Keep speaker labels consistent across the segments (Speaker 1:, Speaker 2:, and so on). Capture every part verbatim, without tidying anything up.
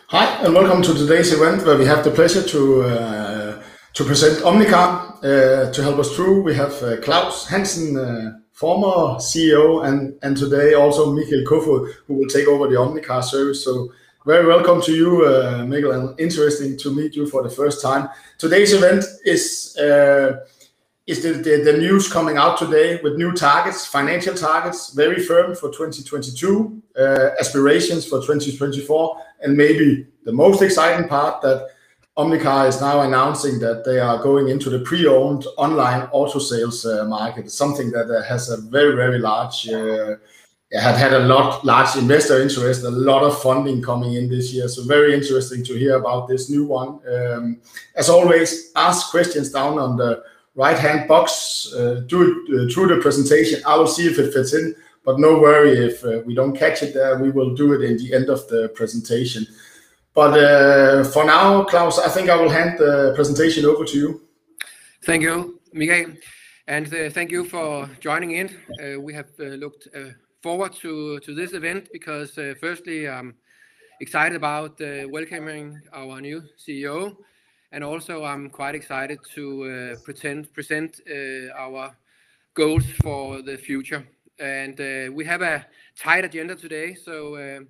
Speaker 1: Hi, and welcome to today's event where we have the pleasure to uh, to present Omnicar. Uh, to help us through, we have uh, Claus Hansen, uh, former C E O, and, and today also Mikkel Kofod, who will take over the Omnicar service. So very welcome to you, uh, Mikkel, and interesting to meet you for the first time. Today's event is uh, is the, the, the news coming out today with new targets, financial targets, very firm for twenty twenty-two, uh, aspirations for twenty twenty-four, and maybe the most exciting part that Omnicar is now announcing that they are going into the pre-owned online auto sales uh, market, something that uh, has a very, very large, uh, had had a lot, large investor interest, a lot of funding coming in this year. So very interesting to hear about this new one. Um, as always, ask questions down on the right-hand box, uh, do it uh, through the presentation. I will see if it fits in, but no worry if uh, we don't catch it there. We will do it in the end of the presentation. But uh, for now, Claus, I think I will hand the presentation over to you.
Speaker 2: Thank you, Mikael, and uh, thank you for joining in. Uh, we have uh, looked uh, forward to, to this event because uh, firstly, I'm excited about uh, welcoming our new C E O. And also, I'm quite excited to uh, pretend, present uh, our goals for the future. And uh, we have a tight agenda today. So uh,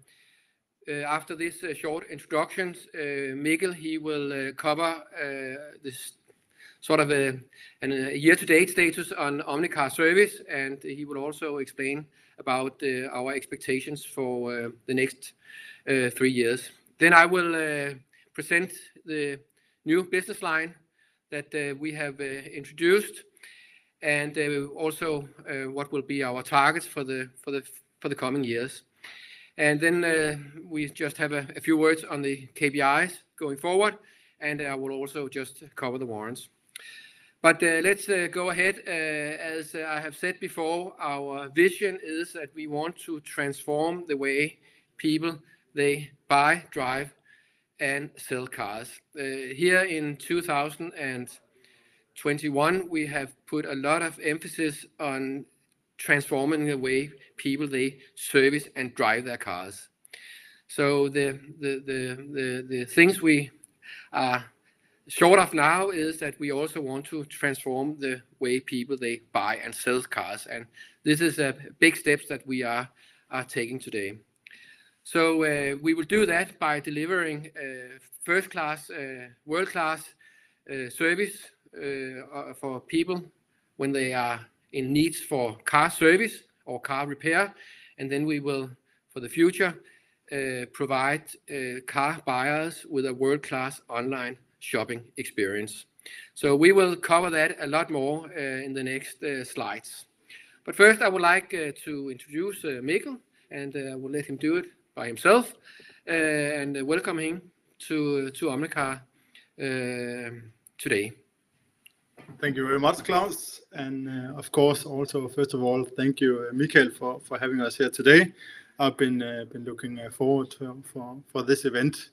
Speaker 2: uh, after this uh, short introductions, uh, Mikkel, he will uh, cover uh, this sort of a, a year-to-date status on Omnicar service. And he will also explain about uh, our expectations for uh, the next uh, three years. Then I will uh, present the new business line that uh, we have uh, introduced, and uh, also uh, what will be our targets for the for the for the coming years. And then uh, we just have a, a few words on the K P Is going forward, and I will also just cover the warrants. But uh, let's uh, go ahead. Uh, as uh, I have said before, our vision is that we want to transform the way people they buy, drive, and sell cars. Uh, here in two thousand twenty-one, we have put a lot of emphasis on transforming the way people they service and drive their cars. So the the the the, the things we are short of now is that we also want to transform the way people they buy and sell cars, and this is a big steps that we are are taking today. So uh, we will do that by delivering uh, first-class, uh, world-class uh, service uh, for people when they are in needs for car service or car repair. And then we will, for the future, uh, provide uh, car buyers with a world-class online shopping experience. So we will cover that a lot more uh, in the next uh, slides. But first, I would like uh, to introduce uh, Mikkel, and uh, I will let him do it by himself, uh, and uh, welcome him to to Omnicar uh, today.
Speaker 3: Thank you very much, Claus, and uh, of course, also first of all, thank you, uh, Mikael, for for having us here today. I've been uh, been looking uh, forward to, for for this event.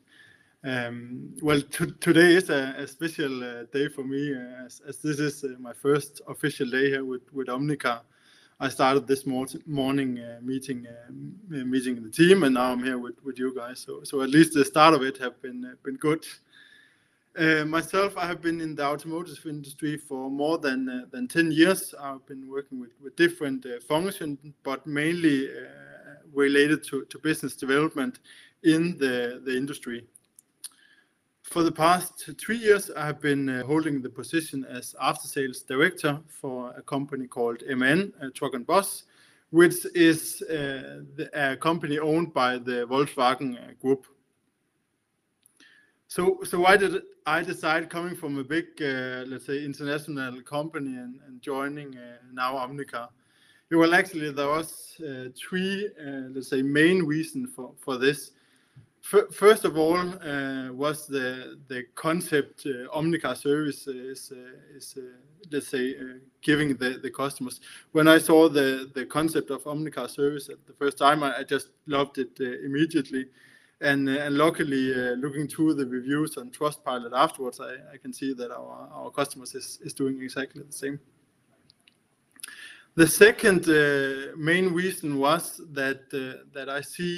Speaker 3: Um, well, today is a, a special uh, day for me, uh, as, as this is uh, my first official day here with with Omnicar. I started this mor morning uh, meeting uh, meeting the team, and now I'm here with, with you guys. So, so at least the start of it have been uh, been good. Uh, myself, I have been in the automotive industry for more than uh, than ten years. I've been working with with different uh, functions, but mainly uh, related to to business development in the the industry. For the past three years, I have been uh, holding the position as after-sales director for a company called M A N, uh, Truck and Bus, which is uh, the, a company owned by the Volkswagen uh, Group. So, so why did I decide, coming from a big, uh, let's say, international company and, and joining uh, now Omnicar? Well, actually, there was uh, three, uh, let's say, main reasons for, for this. First of all, uh, was the the concept uh, Omnicar service is uh, is uh, let's say uh, giving the the customers. When I saw the the concept of Omnicar service at the first time, I, I just loved it uh, immediately, and uh, and luckily uh, looking through the reviews on Trustpilot afterwards, I, I can see that our our customers is is doing exactly the same. The second uh, main reason was that uh, that I see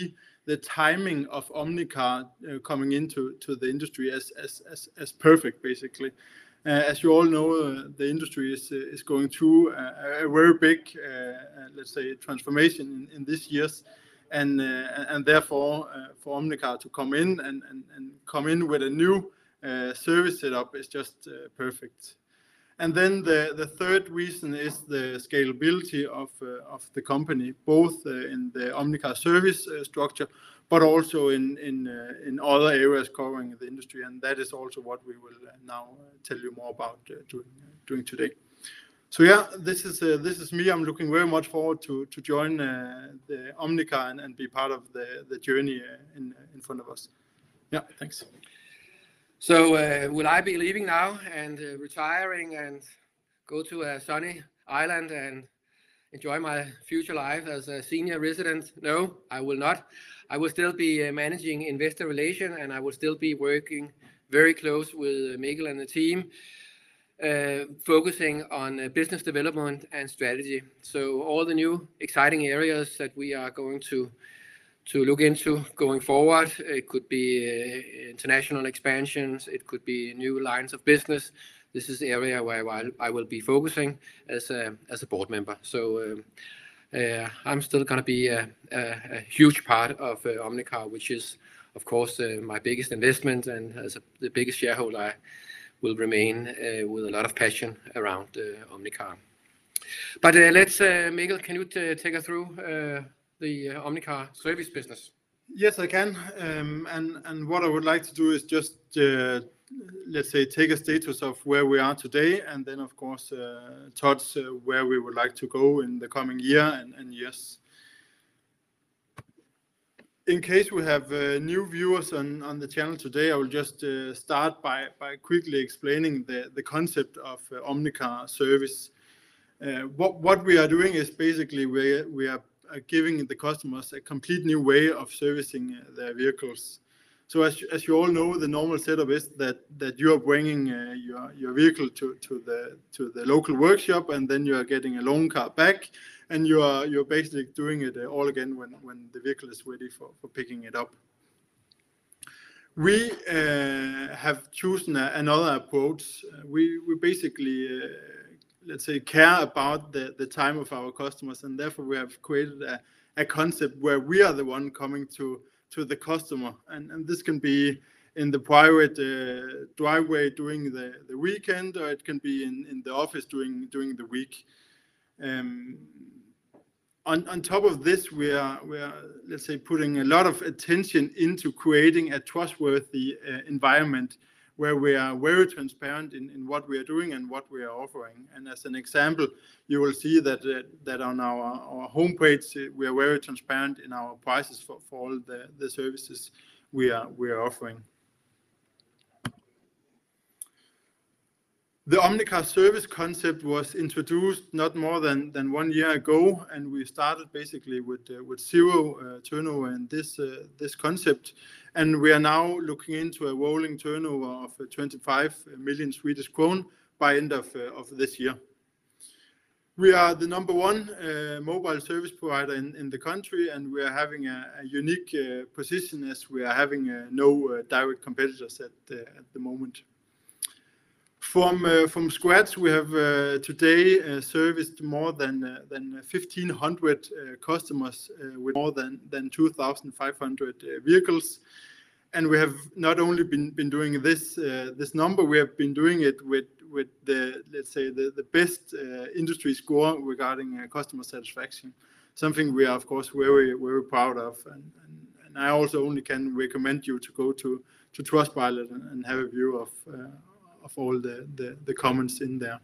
Speaker 3: the timing of Omnicar uh, coming into to the industry as as as, as perfect, basically. Uh, as you all know, uh, the industry is uh, is going through a, a very big, uh, let's say, transformation in, in these years, and uh, and therefore uh, for Omnicar to come in and, and, and come in with a new uh, service setup is just uh, perfect. And then the, the third reason is the scalability of uh, of the company, both uh, in the Omnicar service uh, structure, but also in in uh, in other areas covering the industry, and that is also what we will uh, now uh, tell you more about uh, doing uh, doing today. So yeah, this is uh, this is me. I'm looking very much forward to to join uh, the Omnicar and, and be part of the the journey uh, in in front of us. Yeah, thanks.
Speaker 2: So uh, will I be leaving now and uh, retiring and go to a sunny island and enjoy my future life as a senior resident? No, I will not. I will still be uh, managing investor relation, and I will still be working very close with Mikkel and the team, uh, focusing on uh, business development and strategy. So all the new exciting areas that we are going to to look into going forward. It could be uh, international expansions. It could be new lines of business. This is the area where I will be focusing as a as a board member. So um, uh, I'm still going to be a, a, a huge part of uh, Omnicar, which is, of course, uh, my biggest investment, and as a, the biggest shareholder, I will remain uh, with a lot of passion around uh, Omnicar. But uh, let's, uh, Mikkel, can you t take us through Uh, the uh, Omnicar service business?
Speaker 3: Yes, I can. Um, and, and what I would like to do is just, uh, let's say, take a status of where we are today, and then, of course, uh, touch uh, where we would like to go in the coming year and, and years. In case we have uh, new viewers on, on the channel today, I will just uh, start by, by quickly explaining the, the concept of uh, Omnicar service. Uh, what, what we are doing is basically we, we are Uh, giving the customers a complete new way of servicing uh, their vehicles. So as, as you all know, the normal setup is that that you are bringing uh, your your vehicle to to the to the local workshop, and then you are getting a loan car back, and you are you're basically doing it uh, all again when when the vehicle is ready for for picking it up. We uh, have chosen a, another approach. Uh, we we basically uh, let's say, care about the, the time of our customers, and therefore we have created a, a concept where we are the one coming to, to the customer. And, and this can be in the private uh, driveway during the, the weekend, or it can be in, in the office during, during the week. Um, on, on top of this, we are, we are, let's say, putting a lot of attention into creating a trustworthy uh, environment where we are very transparent in, in what we are doing and what we are offering. And as an example, you will see that uh, that on our, our homepage, uh, we are very transparent in our prices for, for all the, the services we are, we are offering. The Omnicar service concept was introduced not more than, than one year ago, and we started basically with uh, with zero uh, turnover in this uh, this concept, and we are now looking into a rolling turnover of uh, twenty-five million Swedish krone by end of uh, of this year. We are the number one uh, mobile service provider in, in the country, and we are having a, a unique uh, position as we are having uh, no uh, direct competitors at uh, at the moment. From uh, from scratch, we have uh, today uh, serviced more than uh, than fifteen hundred uh, customers uh, with more than than two thousand five hundred uh, vehicles, and we have not only been been doing this uh, this number, we have been doing it with with the, let's say, the the best uh, industry score regarding uh, customer satisfaction. Something we are, of course, very very proud of, and, and and I also only can recommend you to go to to Trustpilot and, and have a view of. Uh, of all the, the, the comments in there.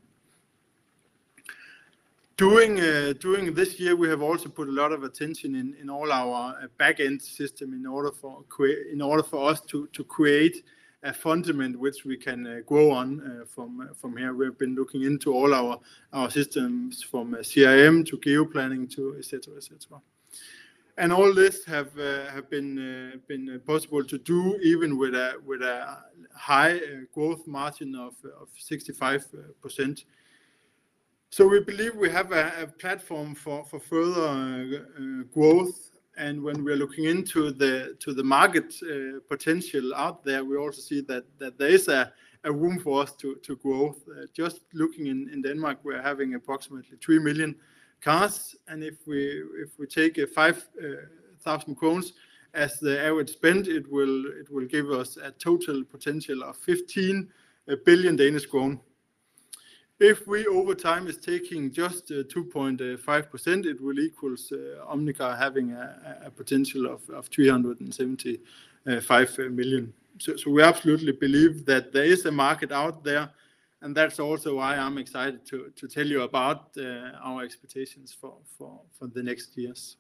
Speaker 3: During, uh, during this year, we have also put a lot of attention in, in all our uh, back-end system in order for in order for us to, to create a fundament which we can uh, grow on uh, from uh, from here. We've been looking into all our our systems from uh, C R M to geoplanning to et cetera, et cetera. And all this have uh, have been uh, been possible to do even with a with a high uh, growth margin of of sixty-five percent. So we believe we have a, a platform for for further uh, uh, growth, And when we're looking into the to the market uh, potential out there, we also see that that there is a, a room for us to to grow. Uh, just looking in, in Denmark, we're having approximately three million cars, and if we if we take a five thousand krones as the average spend, it will it will give us a total potential of fifteen billion Danish kroner. If we over time is taking just uh, two point five percent, it will equals uh, Omnicar having a, a potential of, of three hundred seventy-five million. So, so we absolutely believe that there is a market out there, and that's also why I'm excited to, to tell you about uh, our expectations for, for, for the next years.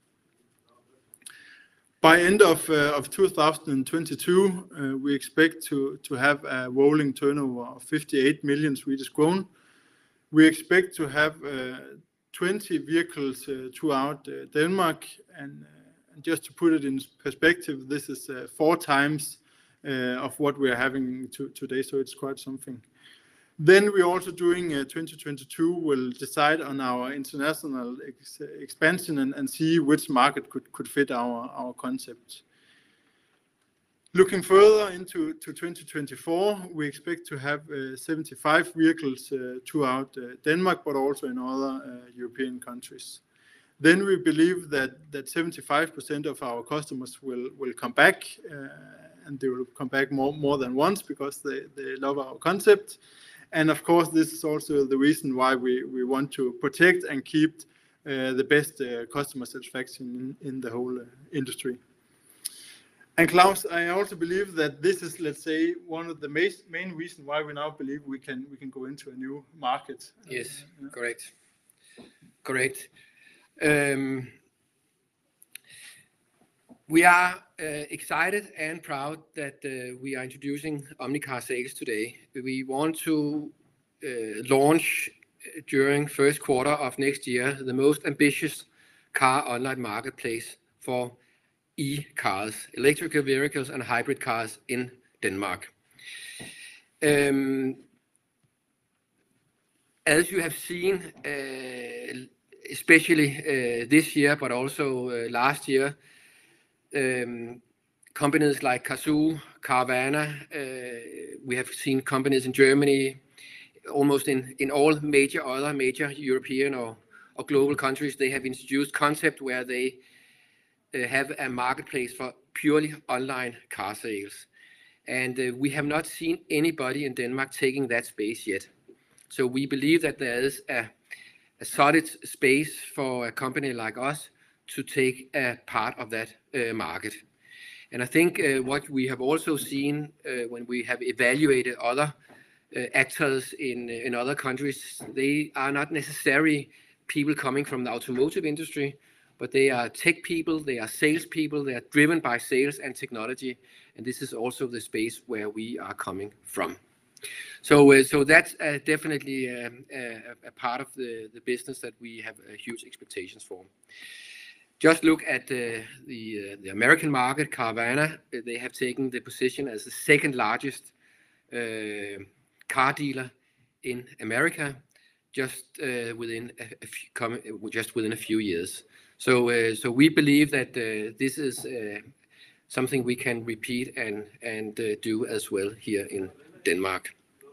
Speaker 3: By end of, uh, of two thousand twenty-two, uh, we expect to, to have a rolling turnover of fifty-eight million Swedish kronor. We expect to have uh, twenty vehicles uh, throughout uh, Denmark, and, uh, and just to put it in perspective, this is uh, four times uh, of what we are having to, today, so it's quite something. Then we're also doing uh, twenty twenty-two, we'll decide on our international ex expansion and, and see which market could, could fit our, our concept. Looking further into to twenty twenty-four, we expect to have uh, seventy-five vehicles uh, throughout uh, Denmark, but also in other uh, European countries. Then we believe that that seventy-five percent of our customers will, will come back, uh, and they will come back more, more than once because they, they love our concept. And of course, this is also the reason why we, we want to protect and keep uh, the best uh, customer satisfaction in, in the whole uh, industry. And Claus, I also believe that this is, let's say, one of the main, main reasons why we now believe we can we can go into a new market.
Speaker 2: Yes,
Speaker 3: uh, yeah.
Speaker 2: correct. Correct. Um, we are uh, excited and proud that uh, we are introducing Omnicar Sales today. We want to uh, launch during first quarter of next year the most ambitious car online marketplace for e-cars, electrical vehicles and hybrid cars in Denmark. Um, as you have seen, uh, especially uh, this year, but also uh, last year, um, companies like Cazoo, Carvana, uh, we have seen companies in Germany, almost in, in all major other major European or, or global countries, they have introduced concept where they uh, have a marketplace for purely online car sales. And uh, we have not seen anybody in Denmark taking that space yet. So we believe that there is a, a solid space for a company like us to take a part of that uh, market. And I think uh, what we have also seen uh, when we have evaluated other uh, actors in, in other countries, they are not necessarily people coming from the automotive industry, but they are tech people, they are sales people, they are driven by sales and technology. And this is also the space where we are coming from. So, uh, so that's uh, definitely um, a, a part of the, the business that we have uh, huge expectations for. Just look at uh, the, uh, the American market, Carvana. They have taken the position as the second largest uh, car dealer in America, just uh, within a, a few, just within a few years. So, uh, so we believe that uh, this is uh, something we can repeat and and uh, do as well here in Denmark.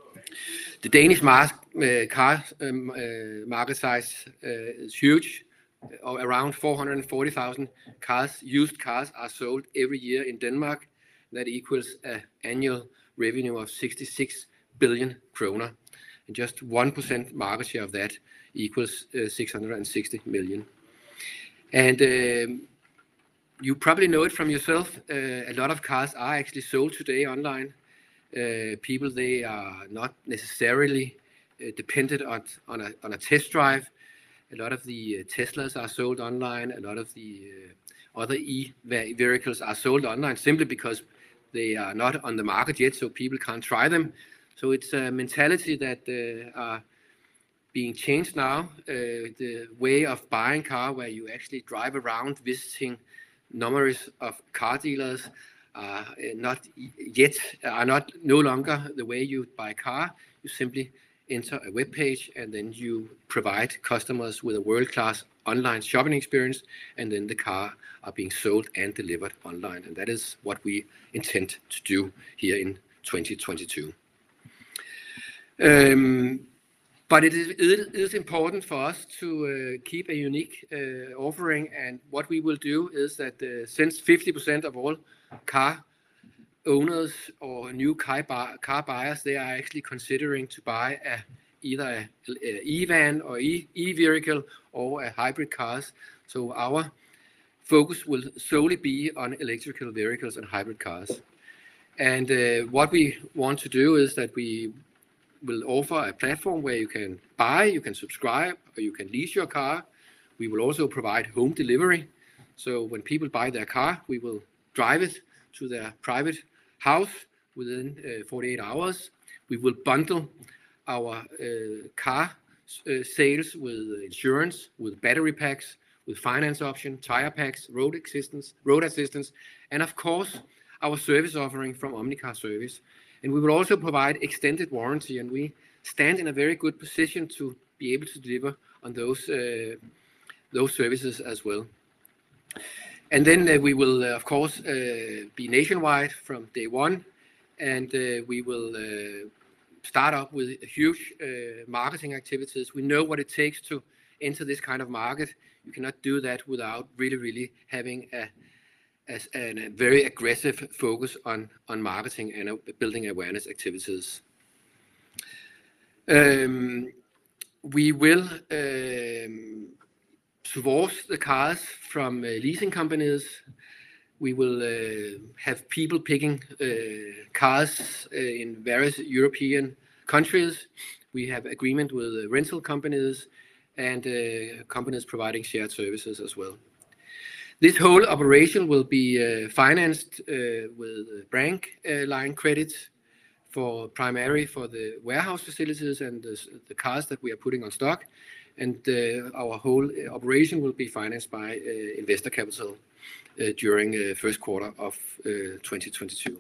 Speaker 2: The Danish mar uh, car um, uh, market size uh, is huge. Uh, around four hundred forty thousand cars, used cars, are sold every year in Denmark. That equals an annual revenue of sixty-six billion kroner. And just one percent market share of that equals uh, six hundred sixty million. And um, you probably know it from yourself. Uh, a lot of cars are actually sold today online. Uh, people, they are not necessarily uh, dependent on, on, a, on a test drive. A lot of the uh, Teslas are sold online. A lot of the uh, other e-vehicles are sold online simply because they are not on the market yet, so people can't try them. So it's a mentality that uh, are being changed now. Uh, the way of buying car, where you actually drive around visiting numerous of car dealers, are not yet, are not no longer the way you buy a car. You simply enter a web page and then you provide customers with a world-class online shopping experience, and then the car are being sold and delivered online. And that is what we intend to do here in twenty twenty-two. Um, but it is, it is important for us to uh, keep a unique uh, offering, and what we will do is that uh, since fifty percent of all car owners or new car, buy, car buyers, they are actually considering to buy a, either a, a e-van or e, e-vehicle or a hybrid cars. So our focus will solely be on electrical vehicles and hybrid cars. And uh, what we want to do is that we will offer a platform where you can buy, you can subscribe, or you can lease your car. We will also provide home delivery. So when people buy their car, we will drive it to their private house within uh, forty-eight hours. We will bundle our uh, car uh, sales with insurance, with battery packs, with finance option, tire packs, road assistance, road assistance, and of course our service offering from Omnicar Service. And we will also provide extended warranty, and we stand in a very good position to be able to deliver on those uh, those services as well. And then uh, we will, uh, of course, uh, be nationwide from day one, and uh, we will uh, start up with huge uh, marketing activities. We know what it takes to enter this kind of market. You cannot do that without really, really having a as a very aggressive focus on, on marketing and uh, building awareness activities. Um, we will um, source the cars from uh, leasing companies. We will uh, have people picking uh, cars uh, in various European countries. We have agreement with uh, rental companies and uh, companies providing shared services as well. This whole operation will be uh, financed uh, with bank uh, line credits for primarily for the warehouse facilities and the, the cars that we are putting on stock. And uh, our whole operation will be financed by uh, investor capital uh, during the uh, first quarter of uh, twenty twenty-two.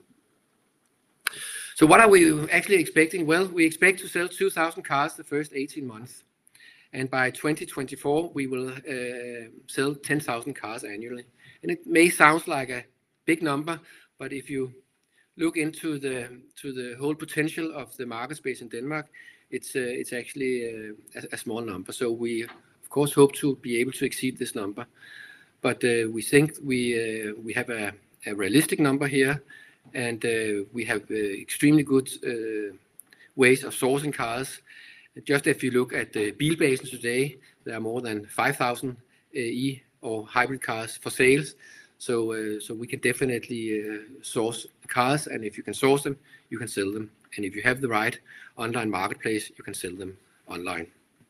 Speaker 2: So what are we actually expecting? Well, we expect to sell two thousand cars the first eighteen months. And by twenty twenty-four, we will uh, sell ten thousand cars annually. And it may sound like a big number, but if you look into the to the whole potential of the market space in Denmark, it's uh, it's actually uh, a, a small number. So we, of course, hope to be able to exceed this number. But uh, we think we uh, we have a, a realistic number here, and uh, we have uh, extremely good uh, ways of sourcing cars. Just if you look at the Bilbasen today, there are more than five thousand uh, e or hybrid cars for sales. So, uh, so we can definitely uh, source cars, and if you can source them, you can sell them. And if you have the right online marketplace, you can sell them online.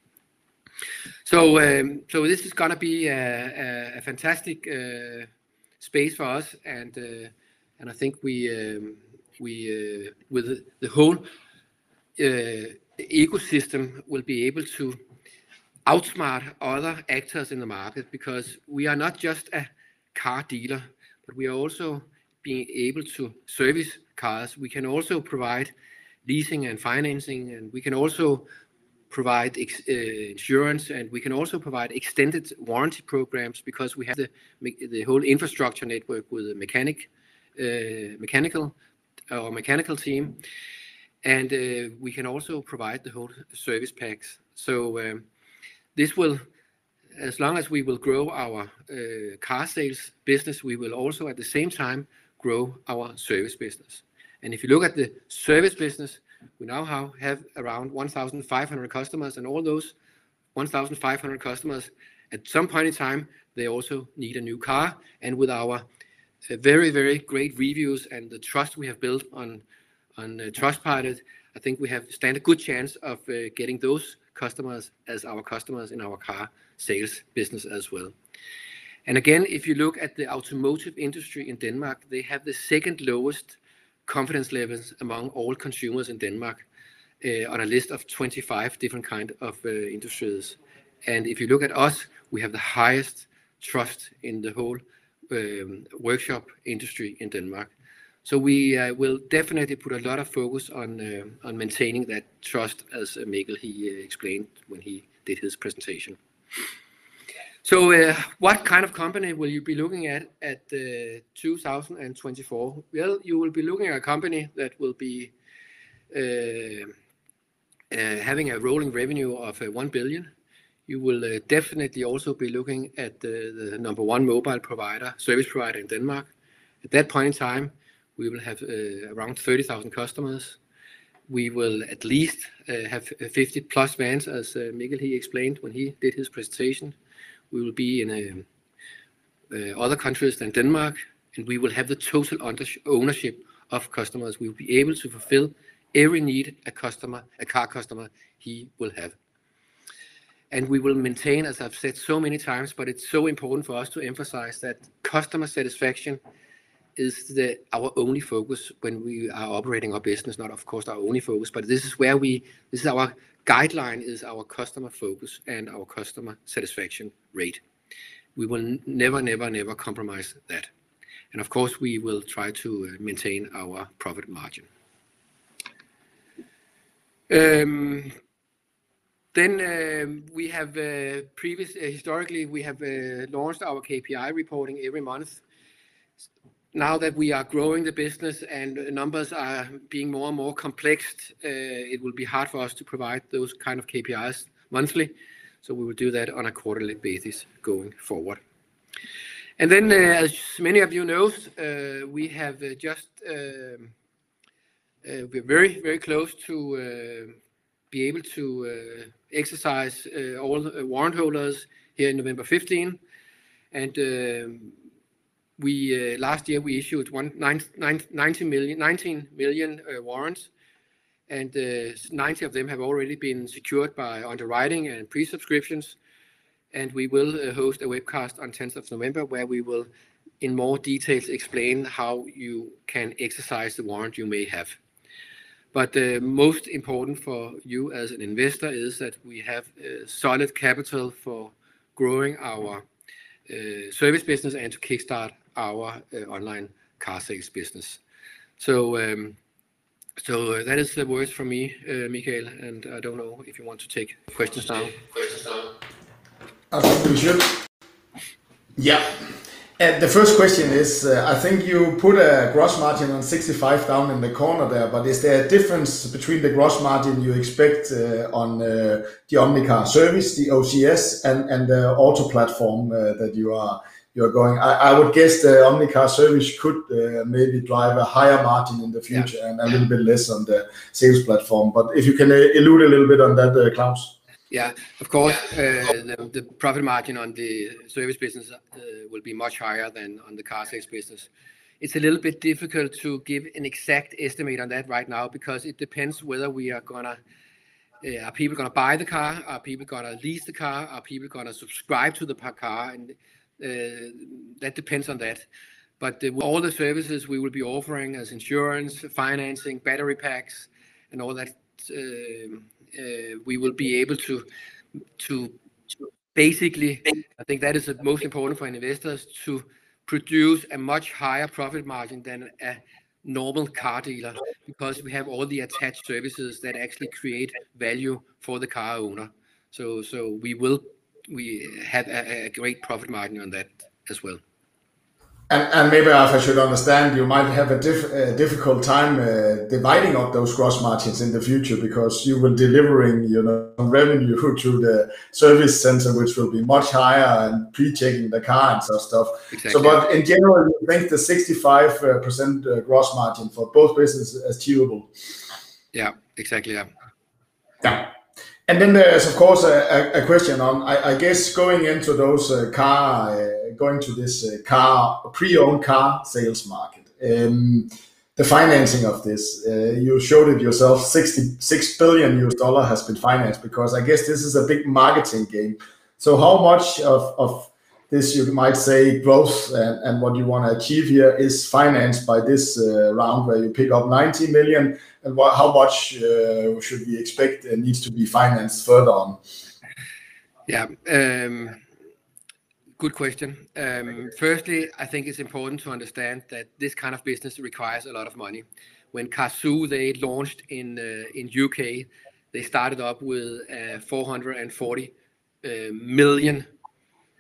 Speaker 2: So, um, so this is going to be a, a, a fantastic uh, space for us, and uh, and I think we um, we uh, with the whole uh, ecosystem will be able to outsmart other actors in the market, because we are not just a car dealer, but we are also being able to service cars. We can also provide leasing and financing, and we can also provide ex uh, insurance, and we can also provide extended warranty programs, because we have the the whole infrastructure network with a mechanic, uh, mechanical or mechanical team. And uh, we can also provide the whole service packs. So um, this will, as long as we will grow our uh, car sales business, we will also at the same time grow our service business. And if you look at the service business, we now have, have around one thousand five hundred customers, and all those one thousand five hundred customers, at some point in time, they also need a new car. And with our uh, very, very great reviews and the trust we have built on on uh, Trustpilot, I think we have stand a good chance of uh, getting those customers as our customers in our car sales business as well. And again, if you look at the automotive industry in Denmark, they have the second lowest confidence levels among all consumers in Denmark uh, on a list of twenty-five different kind of uh, industries. And if you look at us, we have the highest trust in the whole um, workshop industry in Denmark. So we uh, will definitely put a lot of focus on uh, on maintaining that trust, as uh, Mikkel he uh, explained when he did his presentation. So uh, what kind of company will you be looking at at uh, two thousand twenty-four? Well, you will be looking at a company that will be uh, uh, having a rolling revenue of uh, one billion. You will uh, definitely also be looking at the, the number one mobile provider, service provider in Denmark. At that point in time, we will have uh, around thirty thousand customers. We will at least uh, have fifty plus vans, as uh, Mikkel he explained when he did his presentation. We will be in uh, uh, other countries than Denmark, and we will have the total ownership of customers. We will be able to fulfill every need a customer, a car customer, he will have. And we will maintain, as I've said so many times, but it's so important for us to emphasize that customer satisfaction is the, our only focus when we are operating our business. Not, of course, our only focus, but this is where we, this is our guideline, is our customer focus and our customer satisfaction rate. We will never, never, never compromise that. And of course, we will try to maintain our profit margin. Um, then uh, we have uh, previous, uh, historically, we have uh, launched our K P I reporting every month. Now that we are growing the business and numbers are being more and more complex, uh, it will be hard for us to provide those kind of K P Is monthly. So we will do that on a quarterly basis going forward. And then, uh, as many of you know, uh, we have uh, just, uh, uh, we're very, very close to uh, be able to uh, exercise uh, all the warrant holders here in November fifteenth. And uh, We uh, last year we issued one, nine, nine, nineteen million, nineteen million uh, warrants, and uh, ninety of them have already been secured by underwriting and pre-subscriptions. And we will uh, host a webcast on tenth of November where we will, in more details, explain how you can exercise the warrant you may have. But the uh, most important for you as an investor is that we have uh, solid capital for growing our uh, service business and to kickstart our uh, online car sales business. So, um, so uh, that is the words from me, uh, Mikael, and I don't know if you want to take questions now.
Speaker 1: I think we should. Yeah. And the first question is, uh, I think you put a gross margin on sixty-five down in the corner there, but is there a difference between the gross margin you expect uh, on uh, the Omnicar service, the O C S, and, and the auto platform uh, that you are you're going? I, I would guess the Omnicar service could uh, maybe drive a higher margin in the future, yeah, and a little bit less on the sales platform. But if you can uh, allude a little bit on that, uh, Claus.
Speaker 2: Yeah, of course, uh, the, the profit margin on the service business uh, will be much higher than on the car sales business. It's a little bit difficult to give an exact estimate on that right now because it depends whether we are gonna, uh, are people gonna buy the car, are people gonna lease the car, are people gonna subscribe to the car, and uh, that depends on that. But uh, all the services we will be offering as insurance, financing, battery packs, and all that, uh, Uh, we will be able to, to to basically, I think that is the most important for investors, to produce a much higher profit margin than a normal car dealer, because we have all the attached services that actually create value for the car owner. So so we will we have a, a great profit margin on that as well.
Speaker 1: And, and maybe if I should understand, you might have a, diff, a difficult time uh, dividing up those gross margins in the future, because you will delivering, you know, revenue to the service center, which will be much higher, and pre-checking the car and such stuff.
Speaker 2: Exactly.
Speaker 1: So, but in general, you think the sixty-five percent gross margin for both businesses is achievable?
Speaker 2: Yeah, exactly. Yeah.
Speaker 1: Yeah. And then there's, of course, a, a question on, I, I guess, going into those uh, car, uh, going to this uh, car, pre-owned car sales market. Um, the financing of this, uh, you showed it yourself, sixty-six billion U S dollar has been financed, because I guess this is a big marketing game. So how much of, of this, you might say, growth and, and what you want to achieve here is financed by this uh, round where you pick up ninety million? And what, how much uh, should we expect uh, needs to be financed further on?
Speaker 2: Yeah, um, good question. Um, firstly, I think it's important to understand that this kind of business requires a lot of money. When Cazoo, they launched in uh, in U K, they started up with uh, four hundred forty uh, million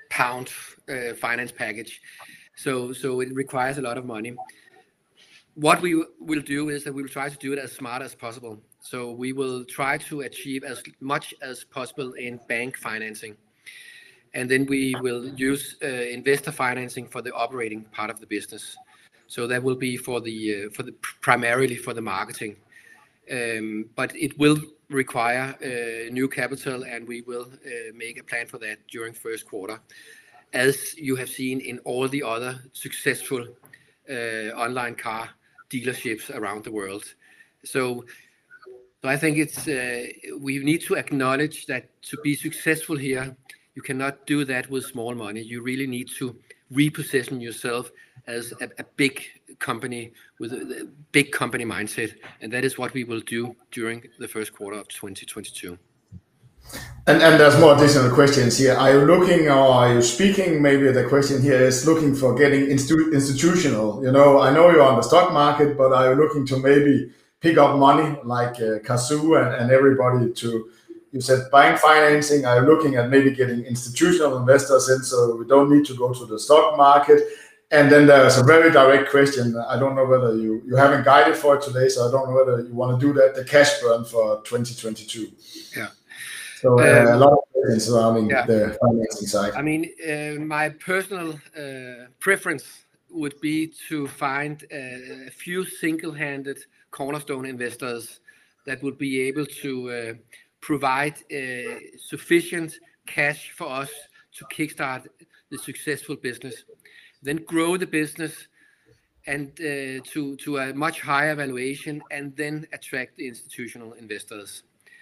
Speaker 2: pound uh, finance package. So, so it requires a lot of money. What we will do is that we will try to do it as smart as possible. So we will try to achieve as much as possible in bank financing. And then we will use uh, investor financing for the operating part of the business. So that will be for the uh, for the primarily for the marketing. Um, but it will require uh, new capital, and we will uh, make a plan for that during first quarter, as you have seen in all the other successful uh, online car dealerships around the world. So, so I think it's uh, we need to acknowledge that to be successful here, you cannot do that with small money. You really need to reposition yourself as a, a big company with a, a big company mindset, and that is what we will do during the first quarter of twenty twenty-two.
Speaker 1: And, and there's more additional questions here. Are you looking, or are you speaking? Maybe the question here is looking for getting institu- institutional. You know, I know you're on the stock market, but are you looking to maybe pick up money like uh, Cazoo and, and everybody to? You said bank financing. Are you looking at maybe getting institutional investors in, so we don't need to go to the stock market? And then there's a very direct question. I don't know whether you, you haven't guided for it today, so I don't know whether you want to do that, the cash burn for twenty twenty-two.
Speaker 2: Yeah.
Speaker 1: So uh, um, a lot of questions surrounding
Speaker 2: yeah.
Speaker 1: the financing side.
Speaker 2: I mean, uh, my personal uh, preference would be to find a, a few single-handed cornerstone investors that would be able to uh, provide uh, sufficient cash for us to kickstart the successful business, then grow the business and uh, to, to a much higher valuation, and then attract the institutional investors.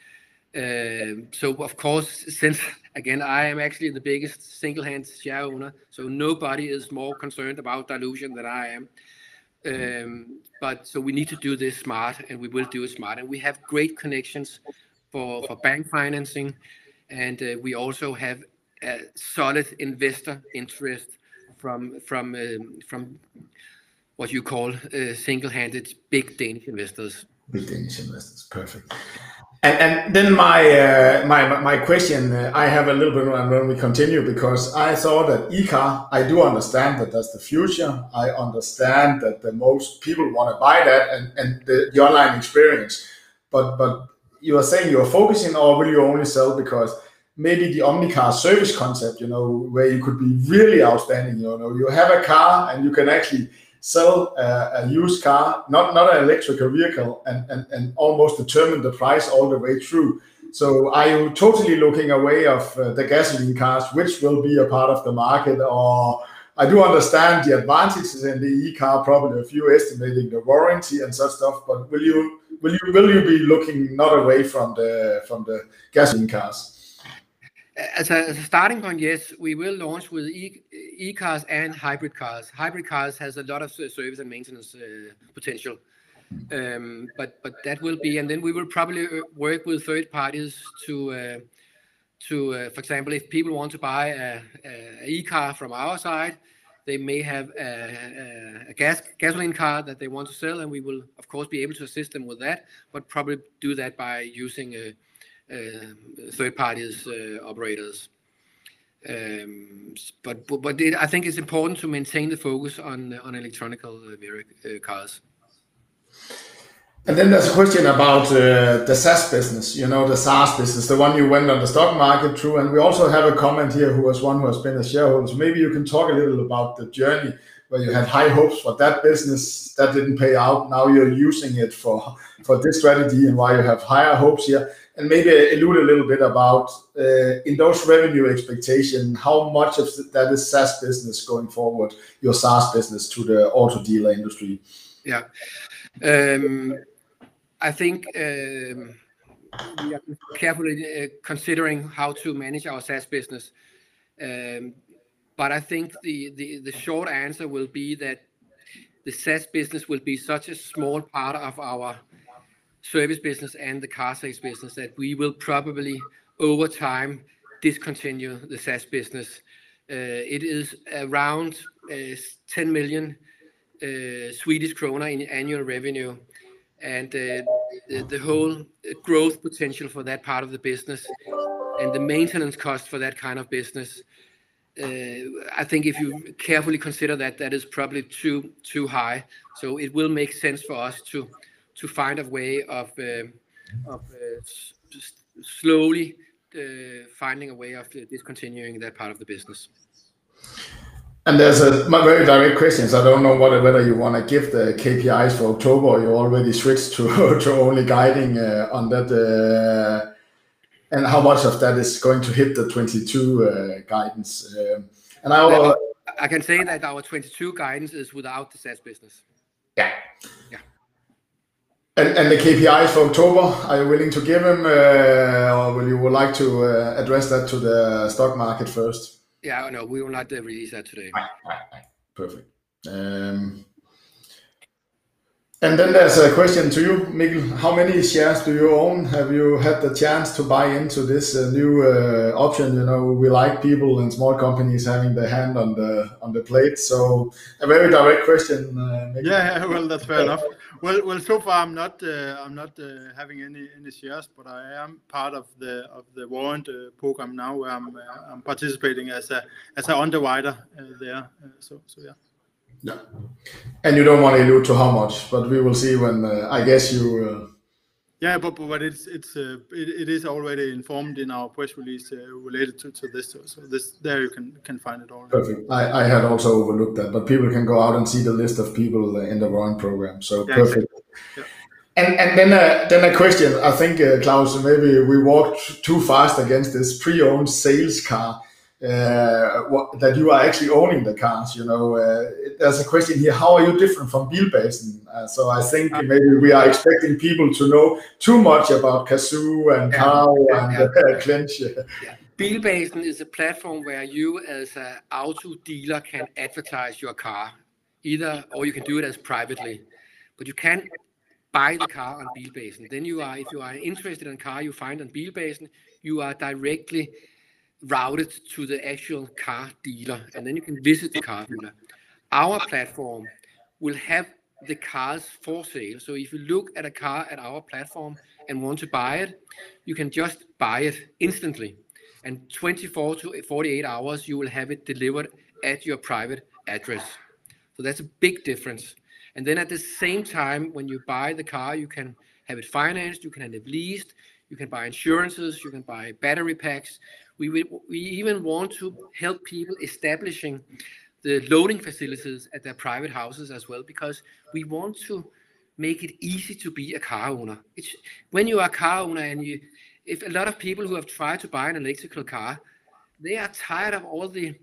Speaker 2: Uh, so of course, since again, I am actually the biggest single-hand share owner, so nobody is more concerned about dilution than I am. Um, but so we need to do this smart, and we will do it smart. And we have great connections for, for bank financing, and uh, we also have a solid investor interest from from um, from what you call uh, single-handed big Danish investors.
Speaker 1: Big Danish investors, perfect. And, and then my uh, my my question, uh, I have a little bit when we continue, because I thought that e-car, I do understand that that's the future. I understand that the most people want to buy that, and, and the, the online experience. But but you are saying you are focusing, or will you only sell because maybe the Omnicar service concept, you know, where you could be really outstanding, you know, you have a car and you can actually sell a, a used car, not, not an electrical vehicle, and, and, and almost determine the price all the way through. So are you totally looking away of uh, the gasoline cars, which will be a part of the market? Or I do understand the advantages in the e-car, probably a few estimating the warranty and such stuff, but will you will you will you be looking not away from the from the gasoline cars?
Speaker 2: As a, as a starting point, yes, we will launch with e, e-cars and hybrid cars. Hybrid cars has a lot of service and maintenance uh, potential, um, but but that will be, and then we will probably work with third parties to uh, to, uh, for example, if people want to buy a, a e-car from our side, they may have a, a, a gas gasoline car that they want to sell, and we will of course be able to assist them with that, but probably do that by using a Uh, third parties uh, operators, um, but but it, I think it's important to maintain the focus on on electronical uh, cars.
Speaker 1: And then there's a question about uh, the SaaS business, you know, the SaaS business, the one you went on the stock market through. And we also have a comment here who was one who has been a shareholder. So maybe you can talk a little about the journey where you had high hopes for that business that didn't pay out. Now you're using it for, for this strategy, and why you have higher hopes here. And maybe allude a little bit about uh, in those revenue expectations, how much of that is SaaS business going forward, your SaaS business to the auto dealer industry?
Speaker 2: Yeah. Um, I think um, we are carefully uh, considering how to manage our SaaS business. Um, but I think the, the, the short answer will be that the SaaS business will be such a small part of our service business and the car sales business that we will probably over time discontinue the SaaS business. Uh, it is around uh, ten million uh, Swedish krona in annual revenue, and uh, the, the whole growth potential for that part of the business and the maintenance cost for that kind of business uh, I think if you carefully consider that, that is probably too too high. So it will make sense for us to to find a way of uh, of uh, s- slowly uh, finding a way of discontinuing that part of the business.
Speaker 1: And there's a my very direct questions. I don't know what, whether you want to give the K P Is for October, or you already switched to to only guiding uh, on that, uh, and how much of that is going to hit the twenty-two uh, guidance. Um, and I,
Speaker 2: Now, I can say that our twenty-two guidance is without the SaaS business.
Speaker 1: Yeah.
Speaker 2: Yeah.
Speaker 1: And, and the K P Is for October, are you willing to give them, uh, or will you would like to uh, address that to the stock market first?
Speaker 2: Yeah, no, we will not uh, release that today.
Speaker 1: Right, right, right. Perfect. Um, and then there's a question to you, Mikkel. How many shares do you own? Have you had the chance to buy into this uh, new uh, option? You know, we like people and small companies having their hand on the on the plate. So a very direct question, uh, Mikkel.
Speaker 3: Yeah, well, that's fair enough. Well, well, so far I'm not uh, I'm not uh, having any any shares, but I am part of the of the warrant uh, program now, where I'm uh, I'm participating as a as an underwriter uh, there. Uh, so so yeah.
Speaker 1: Yeah, and you don't want to allude to how much, but we will see when. Uh, I guess you. Uh...
Speaker 3: Yeah, but but it's it's uh, it, it is already informed in our press release uh, related to, to this. So, so this there you can can find it all.
Speaker 1: Perfect. I, I had also overlooked that, but people can go out and see the list of people in the warrant program. So
Speaker 3: Yeah,
Speaker 1: perfect.
Speaker 3: exactly. Yeah.
Speaker 1: And and then a, then a question. I think uh, Claus, maybe we walked too fast against this pre-owned sales car. Uh, what, that you are actually owning the cars, you know. Uh, there's a question here: how are you different from Bilbasen? Uh, so I think maybe we are expecting people to know too much about Cazoo and
Speaker 2: Yeah.
Speaker 1: Carl
Speaker 2: Yeah,
Speaker 1: and
Speaker 2: yeah.
Speaker 1: uh, Clench.
Speaker 2: Yeah. Bilbasen is a platform where you, as an auto dealer, can advertise your car, either or you can do it as privately, but you can buy the car on Bilbasen. Then you are, if you are interested in a car you find on Bilbasen, you are directly routed to the actual car dealer, and then you can visit the car dealer. Our platform will have the cars for sale. So if you look at a car at our platform and want to buy it, you can just buy it instantly. And twenty-four to forty-eight hours, you will have it delivered at your private address. So that's a big difference. And then at the same time, when you buy the car, you can have it financed, you can have it leased, you can buy insurances, you can buy battery packs. We, we, we even want to help people establishing the loading facilities at their private houses as well, because we want to make it easy to be a car owner. It's, when you are a car owner, and you, if a lot of people who have tried to buy an electrical car, they are tired of all the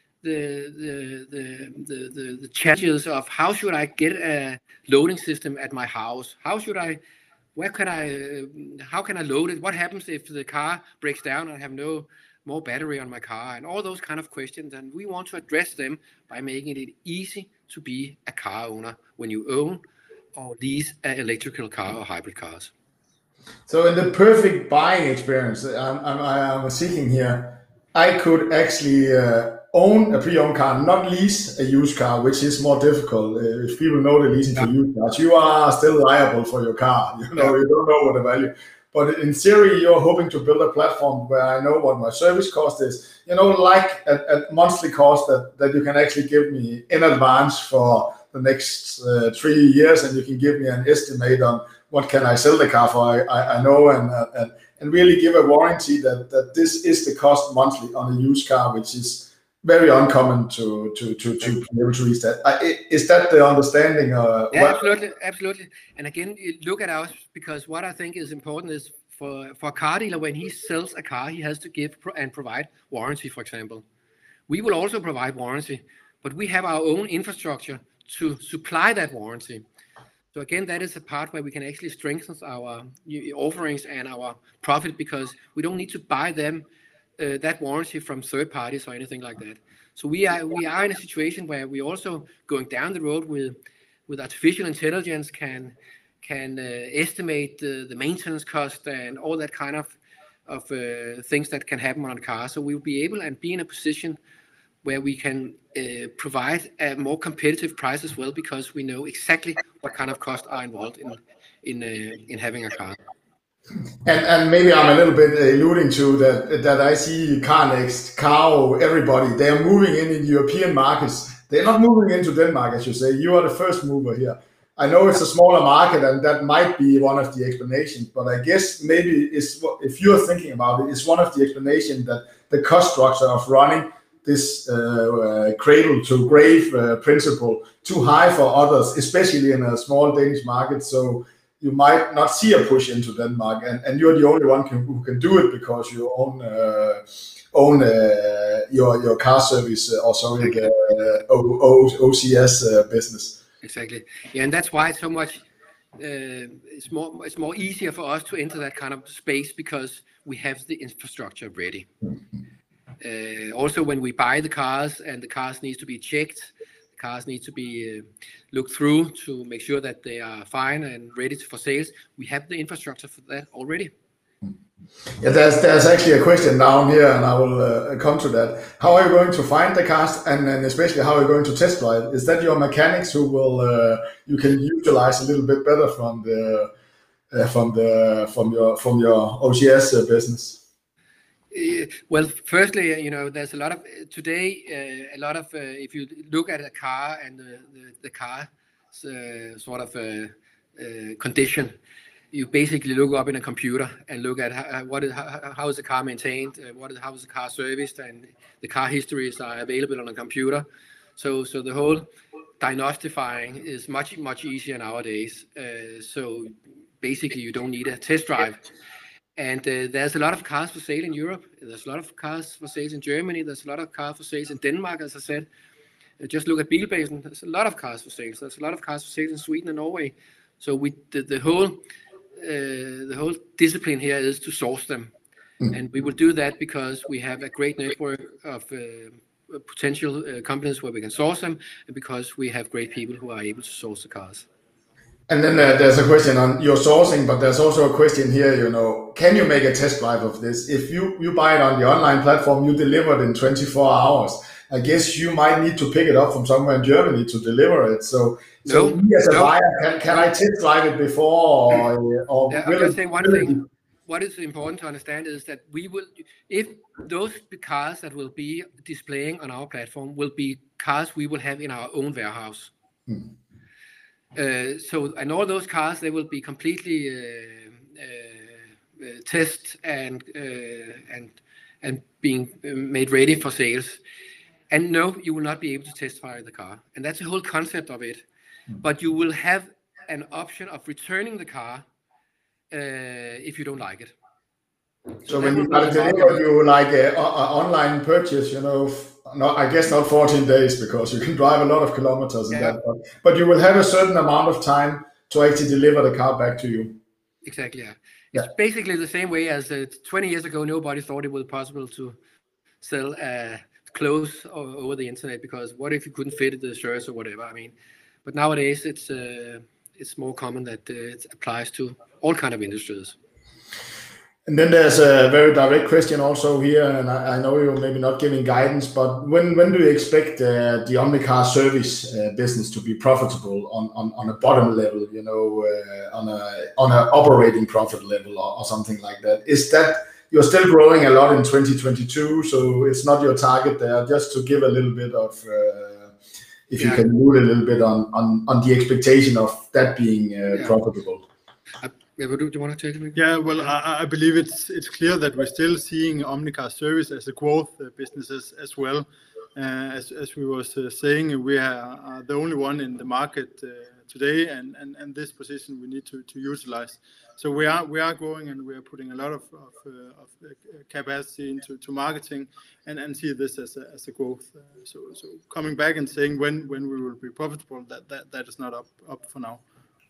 Speaker 2: the the the the, the, the challenges of how should I get a loading system at my house? How should I? Where can I, uh, how can I load it? What happens if the car breaks down and I have no more battery on my car? And all those kind of questions. And we want to address them by making it easy to be a car owner when you own or lease an electrical car or hybrid cars.
Speaker 1: So in the perfect buying experience, I'm, I'm, I'm seeking here, I could actually uh, own a pre-owned car, not lease a used car, which is more difficult. Uh, if people know the leasing yeah. for used cars, you are still liable for your car. You know, yeah. you don't know what the value. But in theory, you're hoping to build a platform where I know what my service cost is. You know, like a, a monthly cost that, that you can actually give me in advance for the next uh, three years, and you can give me an estimate on what can I sell the car for. I, I, I know, and, uh, and and really give a warranty that that this is the cost monthly on a used car, which is very uncommon to to to to be able to reach that. Uh, is that the understanding? Uh,
Speaker 2: yeah, absolutely, absolutely. And again, look at us, because what I think is important is for for a car dealer, when he sells a car, he has to give and provide warranty. For example, we will also provide warranty, but we have our own infrastructure to supply that warranty. So again, that is a part where we can actually strengthen our offerings and our profit, because we don't need to buy them uh, that warranty from third parties or anything like that. So we are we are in a situation where we also going down the road with with artificial intelligence can can uh, estimate the, the maintenance cost and all that kind of of uh, things that can happen on a car. So we will be able and be in a position where we can uh, provide a more competitive price as well, because we know exactly what kind of costs are involved in in uh, in having a car.
Speaker 1: And, and maybe I'm a little bit alluding to that, that I see CarNext, Caro, everybody, they are moving in in European markets. They're not moving into Denmark, as you say. You are the first mover here. I know it's a smaller market, and that might be one of the explanations, but I guess maybe it's, if you're thinking about it, it's one of the explanations that the cost structure of running this uh, uh, cradle to grave uh, principle too high for others, especially in a small Danish market. So you might not see a push into Denmark, and, and you're the only one can, who can do it because you own uh, own uh, your your car service uh, or sorry the uh, o, o, O C S uh, business.
Speaker 2: Exactly. Yeah, and that's why it's so much. Uh, it's more. It's more easier for us to enter that kind of space because we have the infrastructure ready. Uh, also, when we buy the cars and the cars needs to be checked, the cars need to be uh, looked through to make sure that they are fine and ready for sales. We have the infrastructure for that already.
Speaker 1: Yeah, there's there's actually a question down here, and I will uh, come to that. How are you going to find the cars, and, and especially how are you going to test drive? Is that your mechanics who will uh, you can utilize a little bit better from the uh, from the from your from your O C S uh, business?
Speaker 2: Uh, well, firstly, you know, there's a lot of today. Uh, a lot of uh, if you look at a car and the the, the car's uh, sort of uh, uh, condition. You basically look up in a computer and look at how, what is, how, how is the car maintained, uh, what is, how is the car serviced, and the car histories are available on a computer. So, so the whole diagnostifying is much, much easier nowadays. Uh, so basically you don't need a test drive. And uh, there's a lot of cars for sale in Europe. There's a lot of cars for sale in Germany. There's a lot of cars for sale in Denmark, as I said. Uh, just look at Bilbasen. There's a lot of cars for sale. There's a lot of cars for sale in Sweden and Norway. So we, the, the whole Uh, the whole discipline here is to source them, mm. and we will do that because we have a great network of uh, potential uh, companies where we can source them, and because we have great people who are able to source the cars.
Speaker 1: And then uh, there's a question on your sourcing, but there's also a question here, you know, can you make a test drive of this? If you, you buy it on the online platform, you deliver it in twenty-four hours. I guess you might need to pick it up from somewhere in Germany to deliver it. So, so
Speaker 2: no,
Speaker 1: me as a
Speaker 2: no.
Speaker 1: buyer, can, can I test drive it before? Or, or
Speaker 2: yeah, I'll just say one thing. What is important to understand is that we will, if those cars that will be displaying on our platform will be cars we will have in our own warehouse. Hmm. Uh, so, and all those cars, they will be completely uh, uh, uh, tested and uh, and and being made ready for sales. And no, you will not be able to test drive the car. And that's the whole concept of it. Mm. But you will have an option of returning the car uh, if you don't like it.
Speaker 1: So, so when you got it delivered, you like an online purchase, you know, no, I guess not fourteen days because you can drive a lot of kilometers in yeah. that. But, but you will have a certain amount of time to actually deliver the car back to you.
Speaker 2: Exactly, yeah. It's yeah. basically the same way as uh, twenty years ago, nobody thought it was possible to sell uh, clothes over the internet because what if you couldn't fit the shirts or whatever? I mean, but nowadays it's uh, it's more common that uh, it applies to all kind of industries.
Speaker 1: And then there's a very direct question also here, and I, I know you're maybe not giving guidance, but when when do you expect uh, the Omnicar service uh, business to be profitable on, on, on a bottom level, you know, uh, on a on an operating profit level or, or something like that? Is that you're still growing a lot in twenty twenty-two, so it's not your target there. Just to give a little bit of, uh, if yeah. you can move a little bit on, on, on the expectation of that being uh, yeah. profitable.
Speaker 2: Uh, yeah, but do, do you want to take it?
Speaker 3: Yeah, well, I, I believe it's it's clear that we're still seeing Omnicar service as a growth uh, business as, as well. Uh, as as we was uh, saying, we are, are the only one in the market uh, today, and, and, and this position we need to, to utilize. So we are we are growing, and we are putting a lot of of, uh, of uh, capacity into to marketing, and, and see this as a as a growth. Uh, so so coming back and saying when when we will be profitable, that that, that is not up up for now.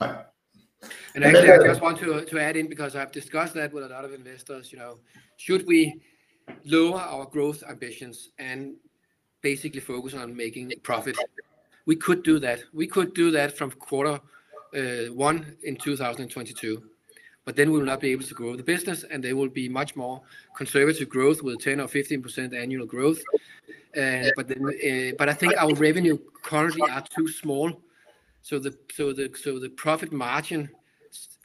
Speaker 2: And actually, I just want to to add in, because I've discussed that with a lot of investors. You know, should we lower our growth ambitions and basically focus on making profit? We could do that. We could do that from quarter uh, one in two thousand twenty-two. But then we will not be able to grow the business, and there will be much more conservative growth with ten or fifteen percent annual growth. Uh, but then, uh, but I think our revenue currently are too small, so the so the so the profit margin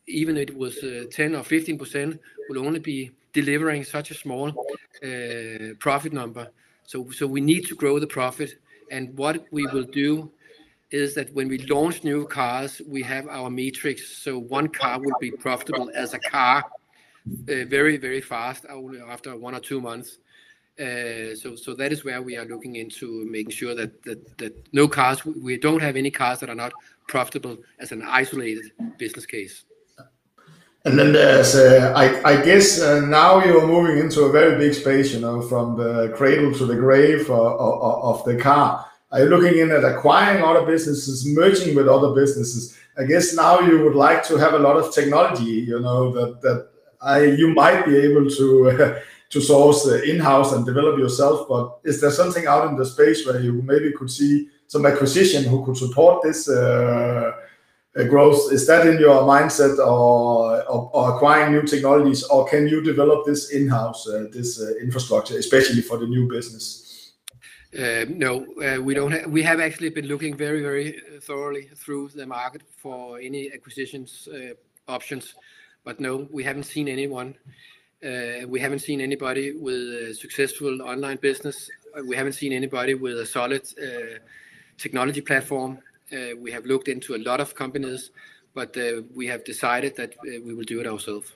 Speaker 2: even if it was uh, ten or fifteen percent, will only be delivering such a small uh, profit number. So, so we need to grow the profit. And what we will do is that when we launch new cars, we have our matrix. So one car will be profitable as a car uh, very, very fast after one or two months. Uh, so, so that is where we are looking into making sure that, that, that no cars, we don't have any cars that are not profitable as an isolated business case.
Speaker 1: And then there's, uh, I, I guess uh, now you're moving into a very big space, you know, from the cradle to the grave uh, of, of the car. Are you looking in at acquiring other businesses, merging with other businesses? I guess now you would like to have a lot of technology, you know, that, that I, you might be able to uh, to source uh, in-house and develop yourself. But is there something out in the space where you maybe could see some acquisition who could support this uh, uh, growth? Is that in your mindset, or, or, or acquiring new technologies, or can you develop this in-house, uh, this uh, infrastructure, especially for the new business?
Speaker 2: Uh, no, uh, we don't. Ha we have actually been looking very, very thoroughly through the market for any acquisitions uh, options, but no, we haven't seen anyone. Uh, we haven't seen anybody with a successful online business. We haven't seen anybody with a solid uh, technology platform. Uh, we have looked into a lot of companies, but uh, we have decided that uh, we will do it ourselves.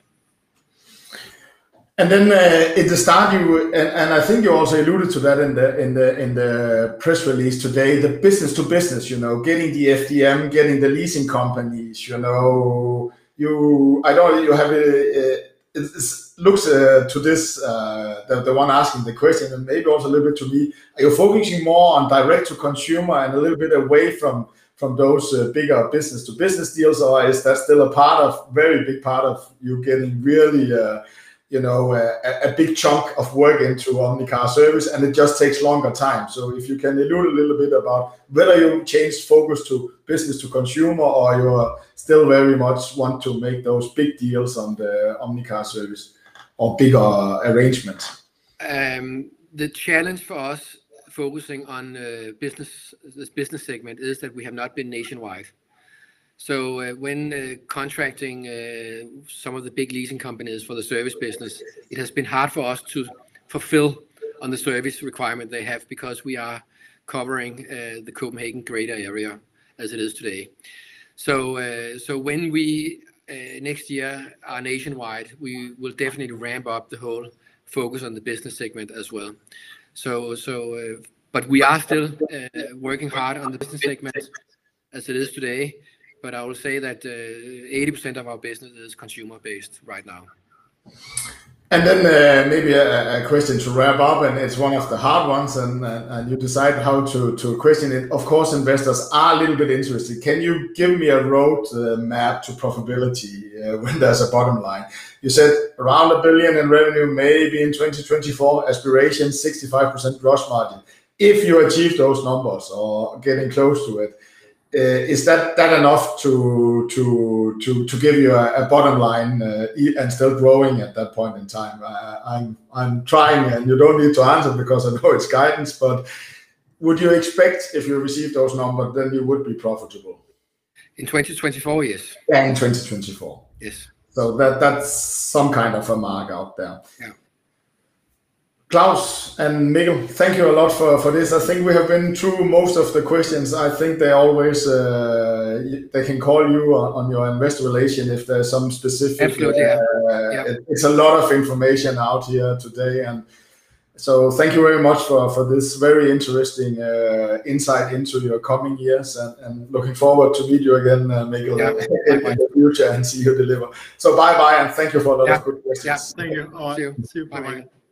Speaker 1: And then uh, at the start, you and, and I think you also alluded to that in the in the in the press release today. The business to business, you know, getting the F D M, getting the leasing companies, you know, you I know you have a, a it looks uh, to this uh, the, the one asking the question, and maybe also a little bit to me. Are you focusing more on direct to consumer and a little bit away from from those uh, bigger business to business deals, or is that still a part of very big part of you getting really uh, you know, a, a big chunk of work into Omnicar service, and it just takes longer time? So if you can allude a little bit about whether you changed focus to business to consumer, or you still very much want to make those big deals on the Omnicar service or bigger arrangements.
Speaker 2: Um, the challenge for us focusing on uh, business, this business segment, is that we have not been nationwide. So uh, when uh, contracting uh, some of the big leasing companies for the service business, it has been hard for us to fulfill on the service requirement they have, because we are covering uh, the Copenhagen greater area as it is today. So, uh, so when we uh, next year are nationwide, we will definitely ramp up the whole focus on the business segment as well. So, so, uh, but we are still uh, working hard on the business segment as it is today. But I will say that uh, eighty percent of our business is consumer-based right now.
Speaker 1: And then uh, maybe a, a question to wrap up, and it's one of the hard ones, and, and, and you decide how to, to question it. Of course, investors are a little bit interested. Can you give me a road uh, map to profitability uh, when there's a bottom line? You said around a billion in revenue, maybe in twenty twenty-four, aspiration sixty-five percent gross margin. If you achieve those numbers or getting close to it, Uh, is that that enough to to to to give you a, a bottom line uh, and still growing at that point in time? Uh, I'm I'm trying, and you don't need to answer because I know it's guidance. But would you expect, if you receive those numbers, then you would be profitable
Speaker 2: in twenty twenty-four? Yes.
Speaker 1: Yeah, in twenty twenty-four.
Speaker 2: Yes.
Speaker 1: So that that's some kind of a mark out there.
Speaker 2: Yeah.
Speaker 1: Klaus and Mikkel, thank you a lot for, for this. I think we have been through most of the questions. I think they always, uh, they can call you on, on your investor relation if there's some specific.
Speaker 2: Absolutely,
Speaker 1: uh,
Speaker 2: yeah. Yeah.
Speaker 1: It, it's a lot of information out here today. And so thank you very much for, for this very interesting uh, insight into your coming years, and, and looking forward to meet you again, uh, Mikkel,
Speaker 2: yeah.
Speaker 1: in, in the future and see you deliver. So bye-bye, and thank you for a lot
Speaker 2: yeah.
Speaker 1: of good questions.
Speaker 2: Yeah.
Speaker 3: Thank you. All right.
Speaker 2: See you.
Speaker 3: See you.
Speaker 2: Bye.
Speaker 3: Bye-bye.